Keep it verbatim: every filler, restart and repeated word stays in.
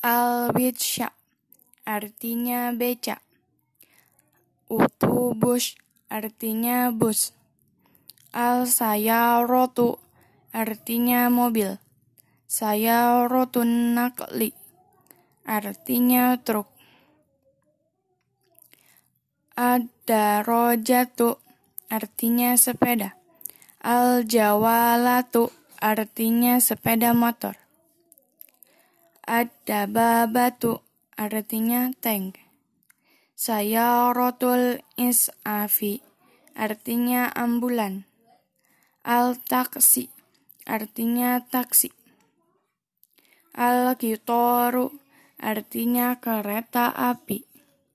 Al-witsya artinya beca. Utubus artinya bus. Al-sayaratu artinya mobil. Sayarotun nakli artinya truk. Ad-darajatu artinya sepeda. Al-jawalatu artinya sepeda motor. Ad-dababatu artinya tank. Sayaratul is'afi artinya ambulan. Al-taksi artinya taksi. Al-qitaru artinya kereta api.